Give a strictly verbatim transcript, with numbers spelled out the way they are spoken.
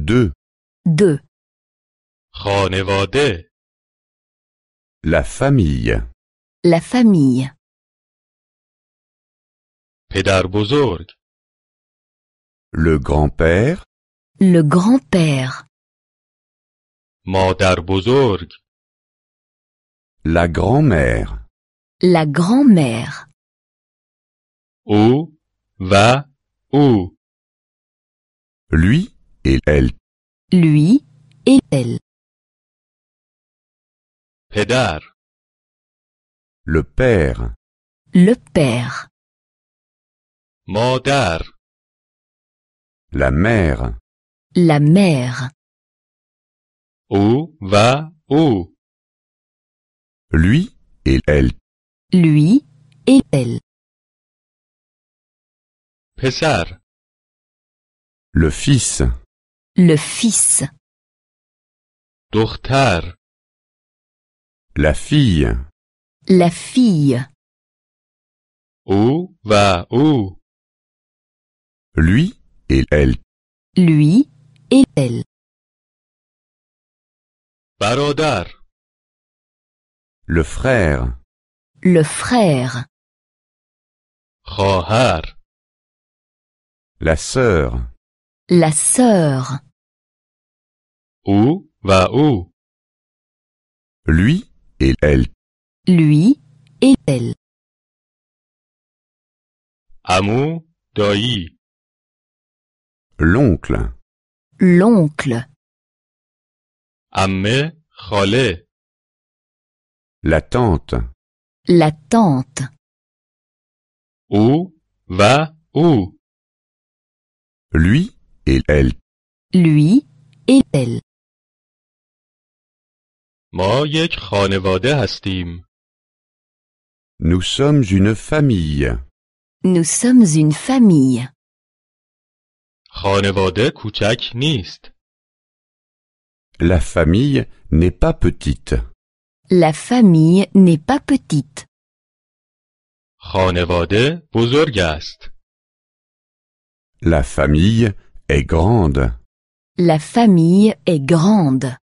Deux. deux. خانواده. La famille. La famille. پدر بزرگ. Le grand-père. Le grand-père. مادر بزرگ. La grand-mère. La grand-mère. او و او. Lui et elle. Lui et elle. پدر. Le père. Le père. مادر. La mère. La mère. او و او. Lui et elle. Lui et elle. پسر. Le fils. Le fils. دختر. La fille. La fille. او و او. Lui et elle. Lui et elle. برادر. Le frère. Le frère. خواهر. La sœur. La sœur. او و او. Lui et elle. Lui et elle. عمو. دایی. L'oncle. L'oncle. عمه. خاله. La tante. La tante. او و او. Lui et elle. Lui et elle. ما یک خانواده هستیم. Nous sommes une famille. Nous sommes une famille. خانواده کوچک نیست. La famille n'est pas petite. La famille n'est pas petite. خانواده بزرگ است. La famille est grande. La famille est grande.